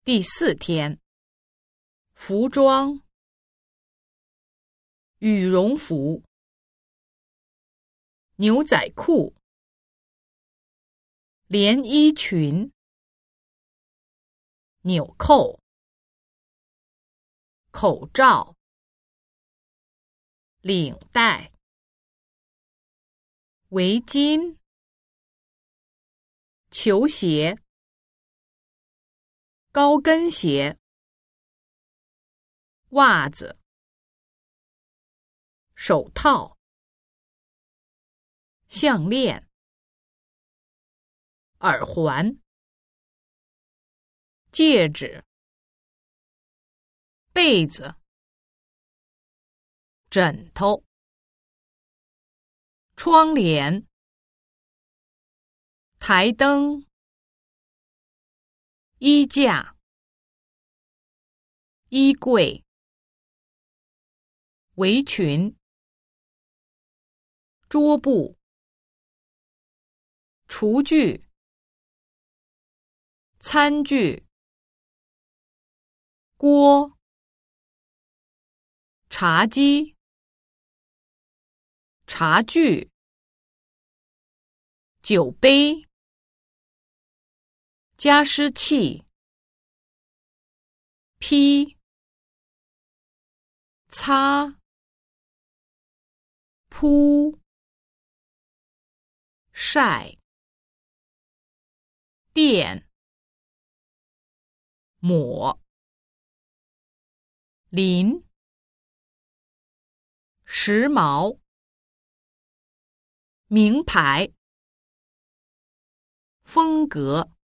第4天，服装：羽绒服、牛仔裤、连衣裙、纽扣、口罩、领带、围巾、球鞋、高跟鞋、袜子、手套、项链、耳环、戒指、被子、枕头、窗帘、台灯、衣架、衣柜、围裙、桌布、厨具、餐具、锅、茶几、茶具、酒杯、加湿器、披、擦、铺、晒、垫、抹、淋、时髦、名牌、风格。